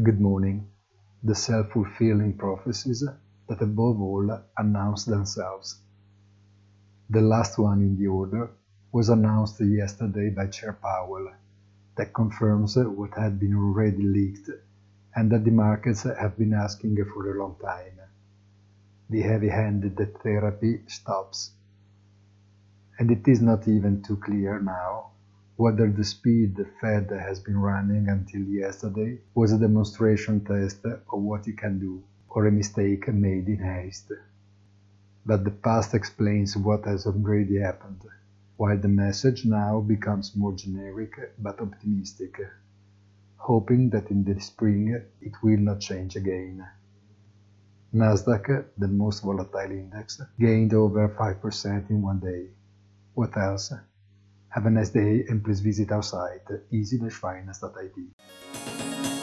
Good morning. The self-fulfilling prophecies that above all announce themselves. The last one in the order was announced yesterday by Chair Powell, that confirms what had been already leaked and that the markets have been asking for a long time. The heavy-handed therapy stops. And it is not even too clear now whether the speed the Fed has been running until yesterday was a demonstration test of what it can do, or a mistake made in haste. But the past explains what has already happened, while the message now becomes more generic but optimistic, hoping that in the spring it will not change again. Nasdaq, the most volatile index, gained over 5% in one day. What else? Have a nice day and please visit our site easy-finance.it.